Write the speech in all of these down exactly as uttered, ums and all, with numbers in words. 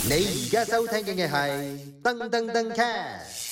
你而家收聽嘅係噔噔噔 cast。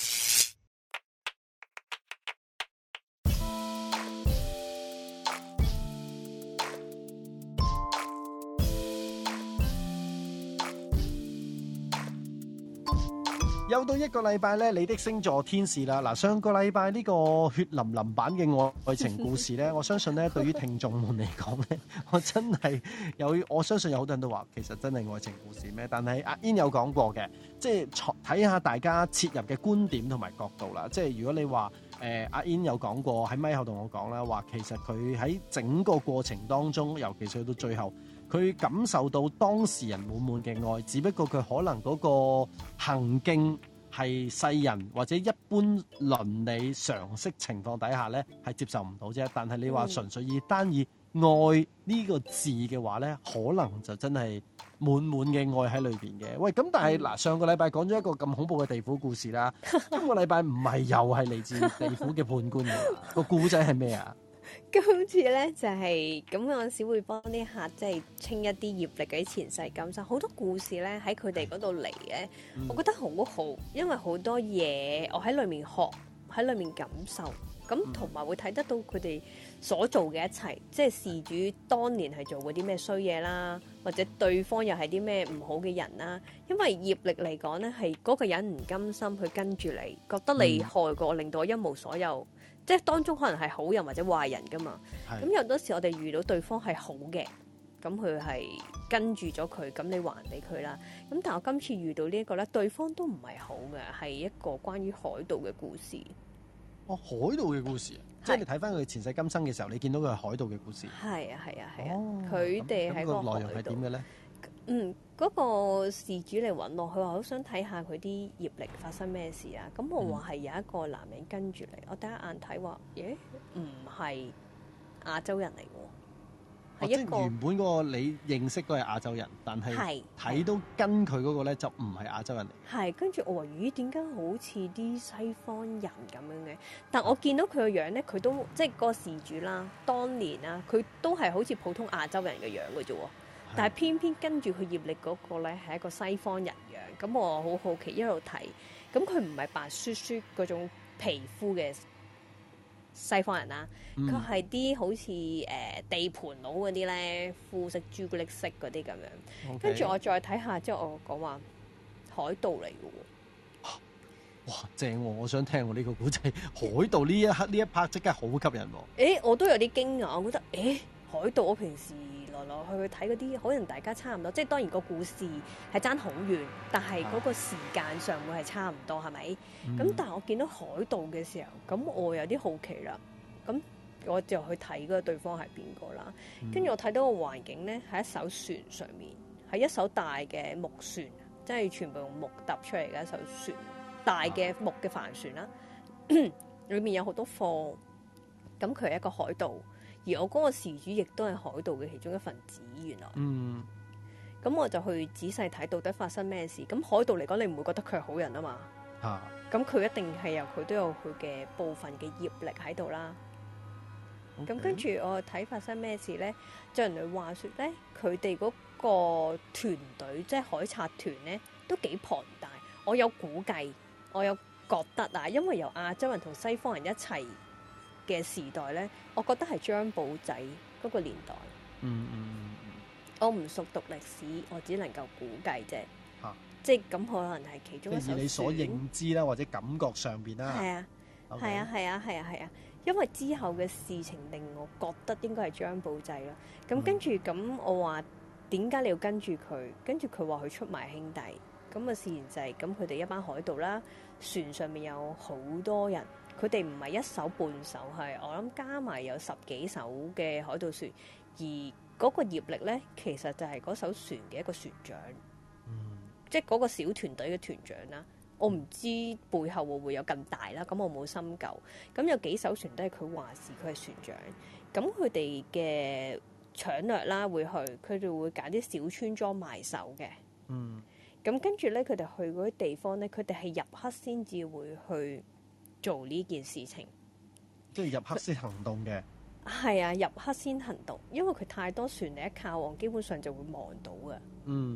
又到一個禮拜咧，你的星座天使啦。嗱，上個禮拜呢個血淋淋版嘅愛情故事咧，我相信咧對於聽眾們嚟講咧，我真係有，我相信有好多人都話其實真係愛情故事咩？但係阿 In 有講過嘅，即係睇下大家切入嘅觀點同埋角度啦。即係如果你話誒阿 In 有講過喺咪後同我講啦，話其實佢喺整個過程當中，尤其是去到最後，佢感受到當事人滿滿嘅愛，只不過佢可能嗰個行徑係世人或者一般倫理常識情況底下咧係接受唔到啫。但係你話純粹以單以愛呢個字嘅話咧，可能就真係滿滿嘅愛喺裏邊嘅。喂，咁但係嗱，上個禮拜講咗一個咁恐怖嘅地府故事啦，今個禮拜唔係又係嚟自地府嘅判官㗎？個故仔係咩啊？ 今次咧就係、是、咁，有陣時會幫啲客即係清一啲業力嗰啲前世今生，好多故事咧喺佢哋嗰度嚟咧，嗯、我覺得好好，因為好多嘢我喺裏面學，喺裏面感受，咁同埋會睇得到佢哋所做嘅一切，即係事主當年係做過啲咩衰嘢啦，或者對方又係啲咩唔好嘅人啦。因為業力嚟講咧，係嗰個人唔甘心去跟住你，覺得你害過，令到我一無所有。即係當中可能係好人或者壞人噶嘛，咁有多時我哋遇到對方係好嘅，咁佢係跟住咗佢，咁你還俾佢啦。咁但係我今次遇到呢一個咧，對方都唔係好嘅，係一個關於海盜嘅故事。 哦，海盜嘅故事啊，即係你睇翻佢前世今生嘅時候，你見到佢係海盜嘅故事。 係啊係啊係啊，佢哋係個內容係點嘅咧？ 嗯，嗰、那個事主嚟揾我，佢話好想睇下佢啲業力發生咩事啊。咁我話係有一個男人跟住嚟，我第一眼睇話，咦，唔係亞洲人嚟喎，係、哦、一個、 即原本嗰個你認識都係亞洲人，但係睇到跟佢嗰個咧就唔係亞洲人嚟。 係，跟住我話咦，點解好似啲西方人咁樣嘅？但我見到佢個樣咧，佢都即係嗰個事主啦，當年啦，佢都係好似普通亞洲人嘅樣嘅啫喎。但係偏偏跟住佢業力嗰個咧係一個西方人樣，咁我好好奇一路睇，咁佢唔係白雪雪嗰種皮膚嘅西方人啦，佢係啲好似誒、呃、地盤佬嗰啲咧，膚色朱古力色嗰啲咁樣。跟住 Okay. 我再睇下之後，我講話海盜嚟嘅喎。 哇，正喎、哦！我想聽我呢個古仔，海盜呢一刻呢一 part 即刻好吸引喎。 誒，我都有啲驚訝，我覺得誒海盜我平時來來去去睇嗰啲，可能大家差唔多，即係當然個故事係爭好遠，但係嗰個時間上會係差唔多，係咪？咁、嗯、但係我見到海盜嘅時候，咁我有啲好奇啦。咁我就去睇嗰個對方係邊個啦。跟住、嗯、我睇到個環境咧，喺一艘船上面，係一艘大嘅木船，即係全部用木搭出嚟嘅一艘船，大嘅木嘅帆船啦。裏面有好多貨，咁佢係一個海盜。而我嗰個事主亦都係海盜嘅其中一份子，原來。嗯。咁我就去仔細睇到底發生咩事。咁海盜嚟講，你唔會覺得佢係好人啊嘛？嚇、啊。咁佢一定係有佢都有佢嘅部分嘅業力喺度啦。咁 Okay. 跟住我睇發生咩事咧？就人哋話説咧，佢哋嗰個團隊即係海賊團咧，都幾龐大。我有估計，我有覺得啊，因為由亞洲人同西方人一齊嘅時代咧，我覺得係張保仔嗰個年代。嗯嗯嗯。我唔熟讀歷史，我只能夠估計啫。嚇、啊！即係咁，可能係其中一艘船。 以你所認知啦，或者感覺上邊啦。 係啊，係 Okay. 啊，係啊，係啊，係啊。因為之後嘅事情令我覺得應該係張保仔啦。咁跟住咁，嗯、我話點解你要跟住佢？跟住佢話佢出賣兄弟。咁啊，事緣就係咁，佢哋一班海盜啦，船上面有好多人。佢哋唔係一艘半艘，係我諗加埋有十幾艘嘅海盜船，而嗰個業力咧，其實就係嗰艘船嘅一個船長，嗯、即係嗰個小團隊嘅團長啦。我唔知背後會唔會有更大啦，咁我冇深究。咁有幾艘船都係佢話事，佢係船長。咁佢哋嘅搶掠啦，會去佢哋會揀啲小村莊埋手嘅。嗯。咁跟住咧，佢哋去嗰啲地方咧，佢哋係入黑先至會去做呢件事情， 即係入黑先行動嘅。 係啊，入黑先行動，因為佢太多船嚟一靠岸，基本上就會望到嘅。嗯，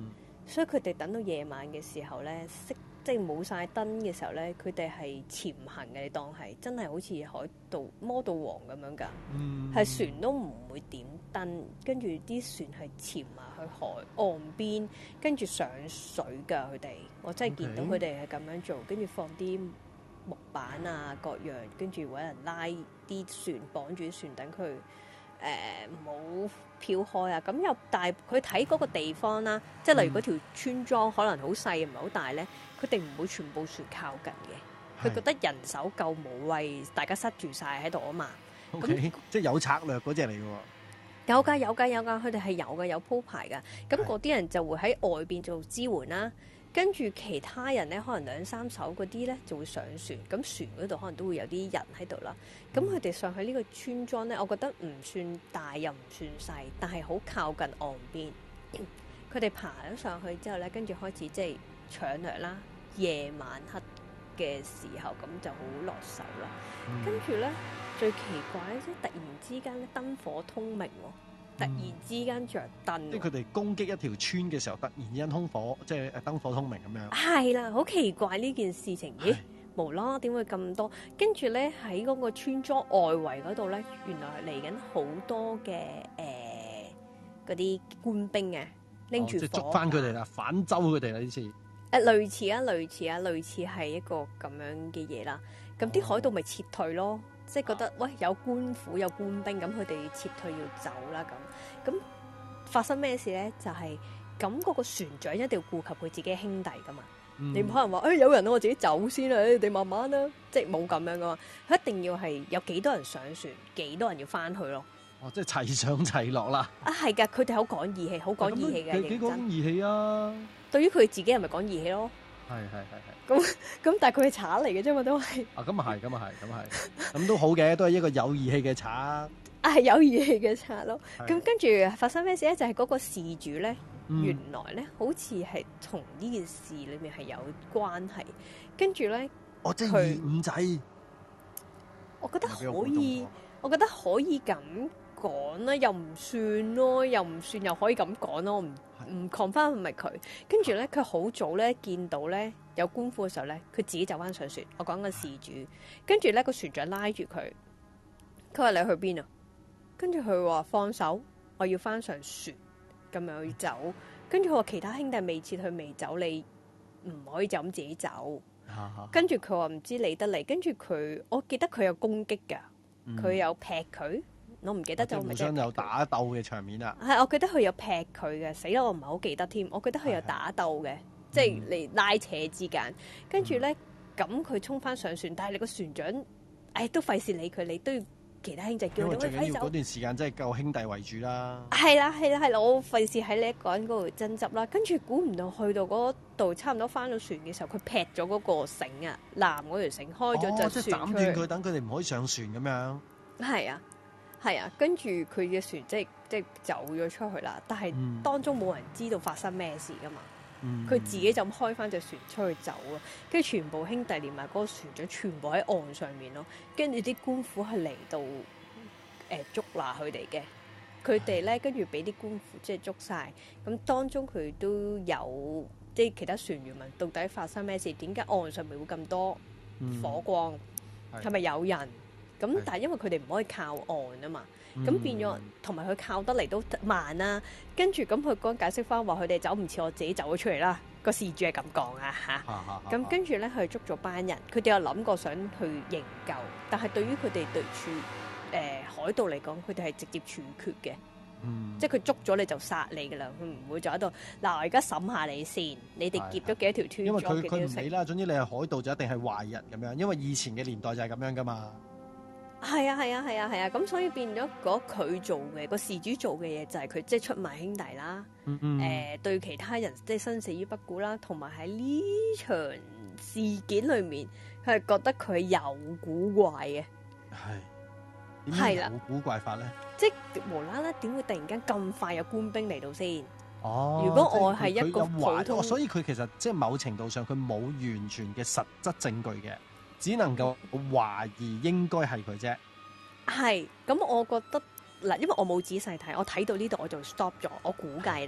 所以佢哋等到夜晚嘅時候咧，熄即係冇晒燈嘅時候咧，佢哋係潛行嘅，你當係真係好似海盜魔盜王咁樣㗎，係、 嗯、 船都唔會點燈，跟住啲船係潛埋去海岸邊，跟住上水㗎佢哋，我真係見到佢哋係咁樣做，跟住放啲木板啊各樣，跟住揾人拉啲船綁住啲船，等佢誒唔好飄開啊！咁又但係佢睇嗰個地方啦，即係例如嗰條村莊可能好細唔係好大咧，佢哋唔會全部船靠近嘅，佢覺得人手夠冇謂，大家塞住晒喺度啊嘛。咁、 okay，即係有策略嗰隻嚟嘅喎。 有㗎有㗎有㗎，佢哋係有嘅，有鋪排㗎。咁嗰啲人就會喺外邊做支援啦。跟住其他人咧，可能兩三艘嗰啲咧就會上船，咁船嗰度可能都會有啲人喺度啦。咁佢哋上去呢個村莊咧，我覺得唔算大又唔算細，但係好靠近岸邊。佢哋爬咗上去之後咧，跟住開始即係搶掠啦。夜晚黑嘅時候咁就好落手啦。 嗯、 跟住咧最奇怪咧，即係突然之間咧燈火通明喎。突然之間着燈、嗯， 即係佢哋攻擊一條村嘅時候，突然之間通火，即係燈火通明咁樣。 係啦，好奇怪呢件事情，咦？無啦啦點會咁多？跟住咧喺嗰個村莊外圍嗰度咧，原來係嚟緊好多嘅誒嗰啲官兵啊，拎住火、哦、即係捉翻佢哋啦，反州佢哋啦呢次。誒、呃、類似啊，類似啊，類似係一個咁樣嘅嘢啦。咁啲海盜咪撤退咯。哦，即係覺得喂有官府有官兵，咁佢哋撤退要走啦咁。咁發生咩事咧？就係咁嗰個船長一定要顧及佢自己兄弟噶嘛。嗯、你唔可能話誒、哎、有人我自己走先啦，你哋慢慢啦，即係冇咁樣噶嘛。佢一定要係有幾多人上船，幾多人要翻去咯。 哦，即係齊上齊落啦。啊， 係㗎，佢哋好講義氣，好講義氣嘅。 佢幾講義氣啊？ 對於佢自己係咪講義氣咯？ 係係係係。 咁咁，但係佢係賊嚟嘅啫嘛，都係。 啊，咁啊係，咁啊係，咁啊係，咁都好嘅，都係一個有義氣嘅賊。啊， 係有義氣嘅賊咯。咁跟住發生咩事咧？就係、是、嗰個事主咧、嗯，原來咧好似係同呢件事裏面係有關係。跟住咧， 我即係二五仔。 我覺得可以，我覺得可以咁講啦，又唔算咯，又唔算又可以咁講咯，唔唔 confirm 係咪佢？跟住咧，佢好早咧見到咧有官府嘅時候咧，佢自己走翻上船。我講緊事主，跟住咧個船長拉住佢，佢話你去邊啊？跟住佢話放手，我要翻上船，咁樣要走。跟住佢話其他兄弟未撤去未走，你唔可以就咁自己走。跟住佢話唔知理得你，跟住佢，我記得佢有攻擊㗎，佢、嗯、有劈佢。我唔記得就互相有打鬥嘅場面啦。 係，我記得佢有劈佢嘅，死啦！我唔係好記得添。我記得佢有打鬥嘅，即係嚟拉扯之間。跟住咧，咁佢衝翻上船，但係你個船長，誒都費事理佢，你都要其他兄弟叫佢。因為最緊要嗰段時間真係夠兄弟為主啦。 係啦，係啦，係啦，我費事喺你一個人嗰度爭執啦。跟住估唔到去到嗰度，差唔多翻到船嘅時候，佢劈咗嗰個繩啊，纜嗰條繩開咗就即係斬斷佢，等佢哋唔可以上船咁樣。 係啊。係啊，跟住佢嘅船即係即係走咗出去啦，但係當中冇人知道發生咩事噶嘛。佢、嗯、自己就開翻隻船出去走咯，跟住全部兄弟連埋嗰個船長全部喺岸上面咯，跟住啲官府係嚟到誒、呃、捉拿佢哋嘅，佢哋咧跟住俾啲官府即係捉晒，咁當中佢都有即係其他船員問到底發生咩事，點解岸上面會咁多火光，係、嗯、咪有人？咁但係因為佢哋唔可以靠岸啊嘛，咁、嗯、變咗同埋佢靠得嚟都慢啦、啊。跟住咁佢講解釋翻話，佢哋走唔似我自己走咗出嚟啦。個事主係咁講啊嚇。咁跟住咧，佢捉咗班人，佢哋有諗過想去營救，但係對於佢哋對處誒、呃、海盜嚟講，佢哋係直接處決嘅、嗯，即係佢捉咗你就殺你噶啦，佢唔會就喺度嗱，我而家審下你先，你哋劫咗幾多條村？ 因為佢佢唔理啦，總之你係海盜就一定係壞人咁樣，因為以前嘅年代就係咁樣噶嘛。 係啊係啊係啊係啊，咁、啊啊、所以變咗嗰佢做嘅個事主做嘅嘢就係佢即係出賣兄弟啦，誒、嗯呃、對其他人即係生死於不顧啦，同埋喺呢場事件裏面，佢係覺得佢有古怪嘅。係係啦， 有古怪法咧， 即係無啦啦點會突然間咁快有官兵嚟到先？ 哦， 如果我係一個普通， 所以佢其實即係某程度上佢冇完全嘅實質證據嘅。只能夠懷疑應該係佢啫。係，咁我覺得嗱，因為我冇仔細睇，我睇到呢度我就 stop 咗，我估計啦。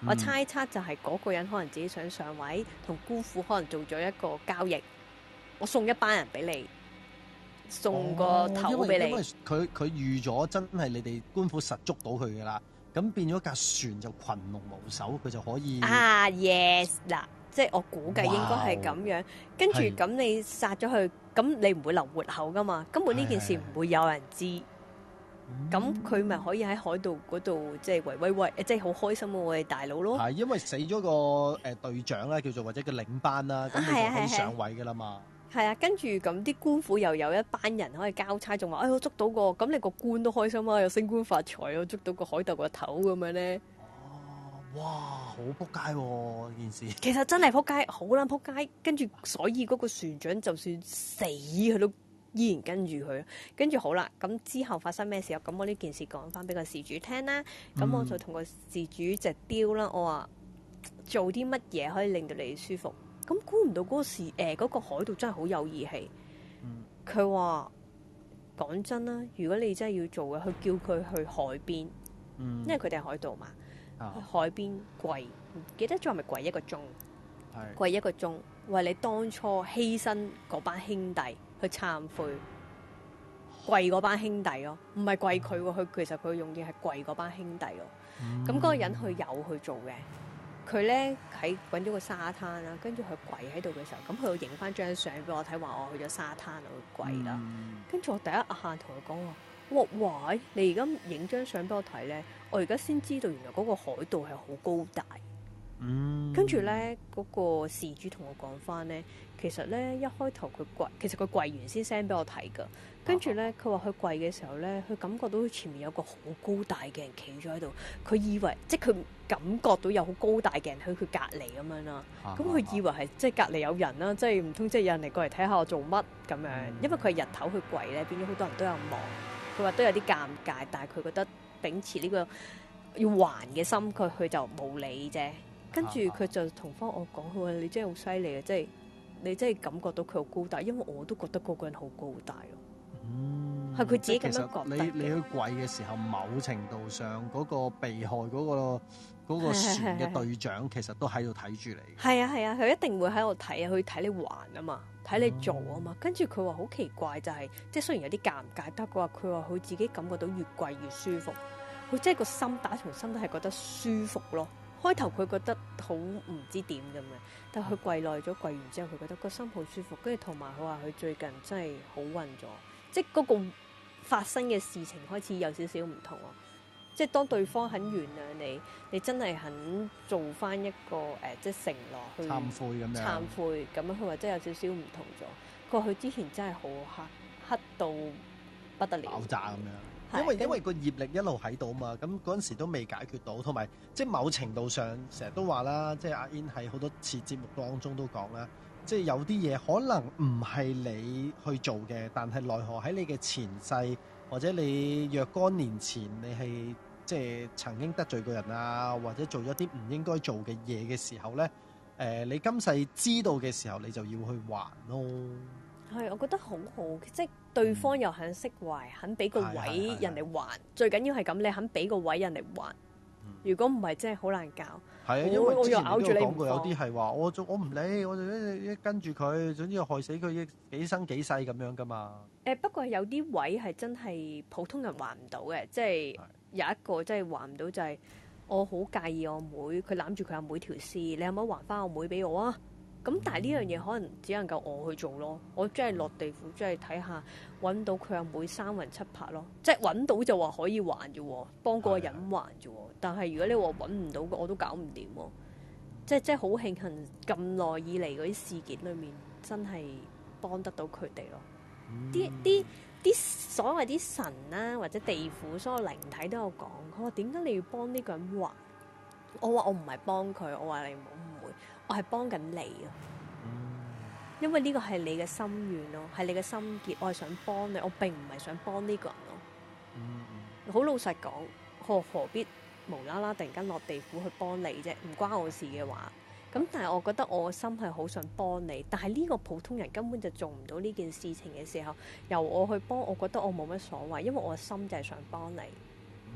嗯我猜測就係嗰個人可能自己想上位，同姑父可能做咗一個交易，我送一班人俾你，送個頭俾你。 哦、因為因為佢佢預咗真係你哋官府實捉到佢㗎啦，咁變咗架船就群龍無首，佢就可以啊 yes 嗱，即係我估計應該係咁樣。跟住咁你殺咗佢，咁你唔會留活口㗎嘛，根本呢件事唔會有人知。咁佢咪可以喺海盜嗰度即係維威威，即係好開心喎！我哋大佬咯， 係因為死咗個誒隊長啦，叫做或者個領班啦，咁你就可以上位㗎啦嘛。 係啊，跟住咁啲官府又有一班人可以交差，仲話哎我捉到個，咁你個官都開心啊，又升官發財啊，捉到個海盜個頭咁樣咧。 哦，哇，好撲街喎件事。 其實真係撲街，好撚撲街。跟住所以嗰個船長就算死佢都依然跟住佢，跟住好啦，咁之後發生咩事啊？咁我呢件事講翻俾個事主聽啦，咁、嗯、我就同個事主隻雕啦，我話做啲乜嘢可以令到你舒服？咁估唔到嗰個事誒，嗰、呃嗰個海盜真係好有義氣。佢話講真啦，如果你真係要做嘅，佢叫佢去海邊，嗯、因為佢哋係海盜嘛，啊、去海邊跪，唔記得咗係咪跪一個鐘？係跪一個鐘，為你當初犧牲嗰班兄弟去懺悔，跪嗰班兄弟咯，唔係跪佢喎，佢其實佢用嘅係跪嗰班兄弟咯。咁嗰、嗯、個人佢有去做嘅，佢咧喺揾咗個沙灘啦，跟住佢跪喺度嘅時候，咁佢影翻張相俾我睇，話我去咗沙灘度跪啦。跟住、嗯、我第一下同佢講話，哇喂，你而家影張相俾我睇咧，我而家先知道原來嗰個海盜係好高大。嗯，跟住咧，嗰、那個事主同我講翻咧，其實咧一開頭佢跪，其實佢跪完先 send 俾我睇噶。跟住咧，佢話佢跪嘅時候咧，佢感覺到前面有個好高大嘅人企咗喺度，佢以為即係佢感覺到有好高大嘅人喺佢隔離咁樣啦。咁佢以為係即係隔離有人啦，即係唔通即係有人嚟過嚟睇下我做乜咁樣？因為佢係日頭去跪咧，變咗好多人都有望。佢話都有啲尷尬，但係佢覺得秉持呢個要還嘅心，佢佢就冇理啫。跟住佢就同翻我講，佢話你真係好犀利啊！即係你真係感覺到佢好高大，因為我都覺得嗰個人好高大咯。嗯，係佢自己咁樣覺得。 你你去跪嘅時候，某程度上嗰個被害嗰個嗰個船嘅隊長，其實都喺度睇住你。 係啊係啊，佢一定會喺度睇啊，去睇你還啊嘛，睇你做啊嘛。跟住佢話好奇怪就係，即係雖然有啲尷尬，但係佢話佢話佢自己感覺到越跪越舒服，佢即係個心打從心都係覺得舒服咯。開頭佢覺得好唔知點咁嘅，但係佢跪耐咗，跪完之後佢覺得個心好舒服，跟住同埋佢話佢最近真係好運咗，即係嗰個發生嘅事情開始有少少唔同咯。即係當對方肯原諒你，你真係肯做翻一個誒、呃，即係承諾去懺悔咁樣， 懺悔咁樣，佢話真係有少少唔同咗。佢話佢之前真係好黑，黑到不得了， 爆炸咁樣。因為因為個業力一路喺度嘛，咁嗰陣時都未解決到，同埋即係某程度上成日都話啦，即係阿 In 喺好多次節目當中都講啦，即係有啲嘢可能唔係你去做嘅，但係奈何喺你嘅前世或者你若干年前你係即係曾經得罪過人啊，或者做咗啲唔應該做嘅嘢嘅時候咧，誒、呃、你今世知道嘅時候，你就要去還咯。 係，我覺得好好，即係對方又肯釋懷，肯俾個位人哋還，最緊要係咁，你肯俾個位人哋還。如果唔係，真係好難搞。 係啊，因為之前都有講過，有啲係話我我唔理，我就一一跟住佢，總之害死佢幾生幾世咁樣噶嘛。 誒不過有啲位係真係普通人還唔到嘅，即係有一個真係還唔到，就係我好介意我妹，佢攬住佢阿妹條屍，你可唔可以還翻我妹俾我啊？咁但係呢樣嘢可能只能夠我去做咯，我真係落地府，真係睇下揾到佢阿妹三魂七魄咯，即係揾到就話可以還啫喎，幫嗰個人還啫喎。但係如果你話揾唔到嘅，我都搞唔掂喎。即係即係好慶幸咁耐以嚟嗰啲事件裏面，真係幫得到佢哋咯。啲啲啲所謂啲神啦、啊，或者地府所有靈體都有講，佢話點解你要幫呢個人還？我話我唔係幫佢，我話你唔好誤會。我係幫緊你啊，因為呢個係你嘅心願咯，係你嘅心結，我係想幫你，我並唔係想幫呢個人咯。好老實講，何何必無啦啦突然間落地府去幫你啫？唔關我事嘅話，咁但係我覺得我嘅心係好想幫你，但係呢個普通人根本就做唔到呢件事情嘅時候，由我去幫，我覺得我冇乜所謂，因為我嘅心就係想幫你。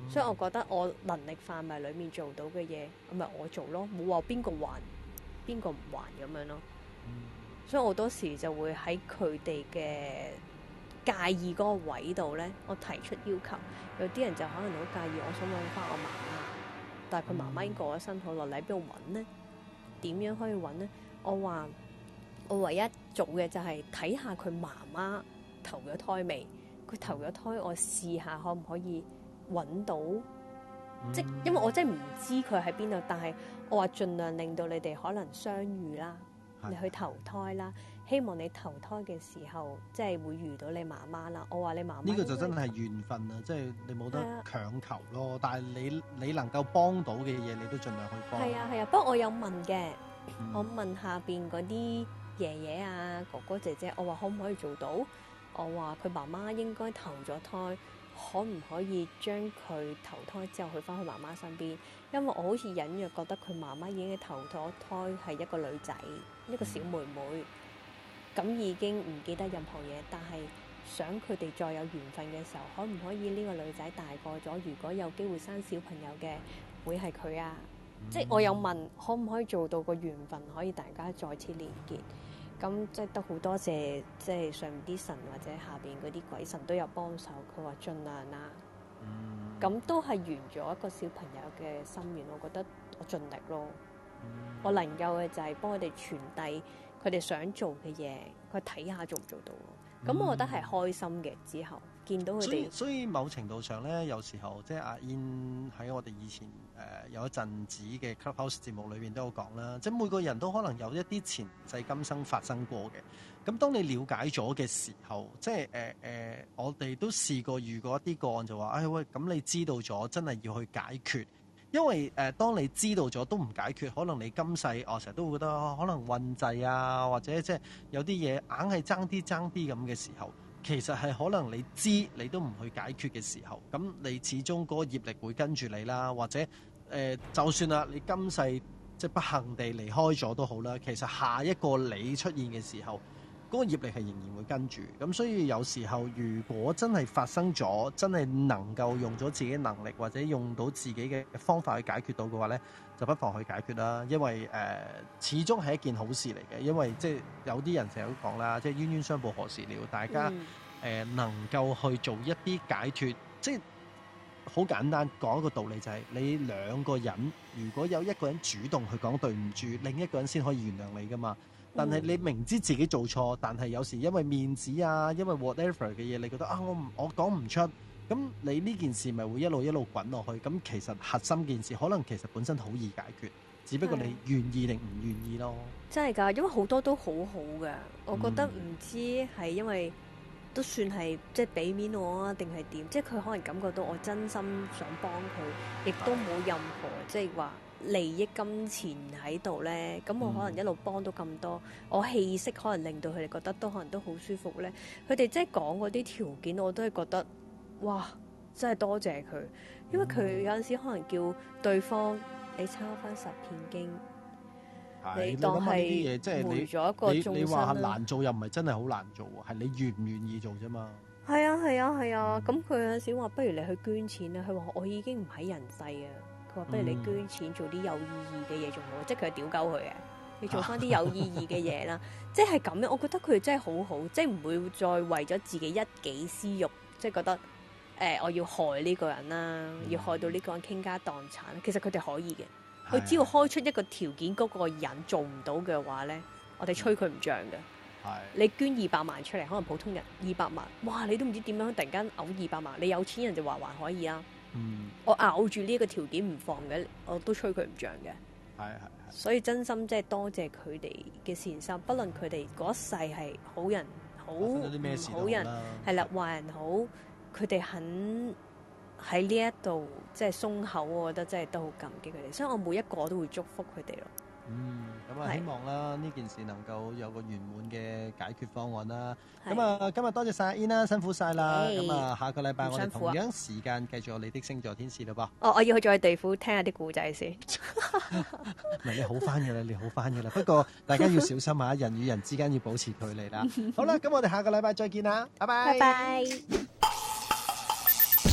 所以我覺得我能力範圍裡面做到嘅嘢，咪我做咯，冇話邊個還邊個唔還咁樣咯。 嗯、 所以我好多時就會喺佢哋嘅介意嗰個位度咧，我提出要求。有啲人就可能好介意，我想揾翻我媽媽，但係佢媽媽已經過咗身好耐，你喺邊度揾呢？點樣可以揾呢？我話我唯一做嘅就係睇下佢媽媽投咗胎未。佢投咗胎，我試下可唔可以揾到？嗯、即因為我真係唔知佢喺邊度，但係我話盡量令到你哋可能相遇啦，你去投胎啦。希望你投胎嘅時候，即係會遇到你媽媽啦。我話你媽媽呢個就真係緣分啊！即係你冇得強求咯。啊、但係你你能夠幫到嘅嘢，你都盡量去幫。 係啊係啊，不過我有問嘅，嗯、我問下邊嗰啲爺爺啊、哥哥姐姐，我話可唔可以做到？我話佢媽媽應該投咗胎，可唔可以將佢投胎之後去翻佢媽媽身邊？因為我好似隱約覺得佢媽媽已經投咗胎係一個女仔，一個小妹妹。咁已經唔記得任何嘢，但係想佢哋再有緣分嘅時候，可唔可以呢個女仔大個咗，如果有機會生小朋友嘅，會係佢啊？嗯、即係我有問，可唔可以做到個緣分可以大家再次連結？咁即係都好多謝，即係上面啲神或者下邊嗰啲鬼神都有幫手。佢話盡量啦。咁、嗯、都係圓咗一個小朋友嘅心願，我覺得我盡力咯。嗯、我能夠嘅就係幫佢哋傳遞佢哋想做嘅嘢，佢睇下做唔做到咯。咁、嗯、我覺得係開心嘅。之後見到佢哋， 所以所以某程度上咧，有時候即係阿 In 喺我哋以前誒、呃、有一陣子嘅 Clubhouse 節目裏邊都有講啦，即係每個人都可能有一啲前世今生發生過嘅。咁當你了解咗嘅時候，即係誒誒，我哋都試過遇過一啲個案就話，哎喂，咁你知道咗，真係要去解決。因為誒、呃，當你知道咗都唔解決，可能你今世我成日都會覺得、哦、可能運滯啊，或者即係有啲嘢硬係爭啲爭啲咁嘅時候，其實係可能你知你都唔去解決嘅時候，咁你始終嗰個業力會跟住你啦，或者誒、呃，就算啦，你今世即係不幸地離開咗都好啦，其實下一個你出現嘅時候，嗰個業力係仍然會跟住，咁所以有時候如果真係發生咗，真係能夠用咗自己能力或者用到自己嘅方法去解決到嘅話呢，就不妨去解決啦。因為誒、呃、始終係一件好事嚟嘅，因為即係有啲人成日都講啦，即係冤冤相報何時了，大家誒、嗯呃、能夠去做一啲解脫，即係好簡單講一個道理就係、是、你兩個人如果有一個人主動去講對唔住，另一個人先可以原諒你㗎嘛。但係你明知自己做錯，但係有時因為面子啊，因為 whatever 嘅嘢，你覺得啊，我唔我講唔出，咁你呢件事咪會一路一路滾落去。咁其實核心件事可能其實本身好易解決，只不過你願意定唔願意咯。 真係㗎，因為好多都好好㗎，我覺得唔知係因為都算係即係俾面我啊，定係點？即係佢可能感覺到我真心想幫佢，亦都冇任何即係話利益金錢喺度咧，咁我可能一路幫到咁多，嗯、我氣息可能令到佢哋覺得都可能都好舒服咧。佢哋即係講嗰啲條件，我都係覺得哇，真係多謝佢，因為佢有陣時可能叫對方你抄翻十片經， 嗯、你當係回咗一個眾生啦。你你話難做又唔係真係好難做喎，係你願唔願意做啫嘛。係啊係啊係啊，咁佢、嗯、有陣時話不如你去捐錢啦，佢話我已經唔喺人世啊。佢話不如你捐錢做啲有意義嘅嘢仲好，即係佢係屌鳩佢嘅，你做翻啲有意義嘅嘢啦，即係咁樣。我覺得佢哋真係好好，即係唔會再為咗自己一己私欲，即係覺得誒、呃、我要害呢個人啦，嗯、要害到呢個人傾家蕩產。其實佢哋可以嘅，佢的只要開出一個條件，嗰、嗰個人做唔到嘅話咧，我哋吹佢唔脹嘅。係的你捐二百萬出嚟，可能普通人二百萬，哇！你都唔知點樣突然間嘔二百萬，你有錢人就話還可以啊。嗯，我咬住呢一個條件唔放嘅，我都吹佢唔脹嘅。係係係，所以真心即係多謝佢哋嘅善心，不論佢哋嗰一世係好人好唔好人，係啦壞人好，佢哋肯喺呢一度即係鬆口，我覺得真係都好感激佢哋，所以我每一個都會祝福佢哋咯。嗯，咁啊，希望啦呢件事能夠有個圓滿嘅解決方案啦。咁啊，今日多謝晒阿 In 啦，辛苦晒啦。咁啊，下個禮拜我哋同樣時間繼續我哋的星座天使啦噃。哦，我要去再地府聽下啲故仔先。唔係你好翻嘅啦，你好翻嘅啦。不過大家要小心啊，人與人之間要保持距離啦。好啦，咁我哋下個禮拜再見啦，拜拜。拜拜。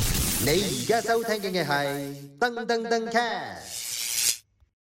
你而家收聽嘅係噔噔噔 cast。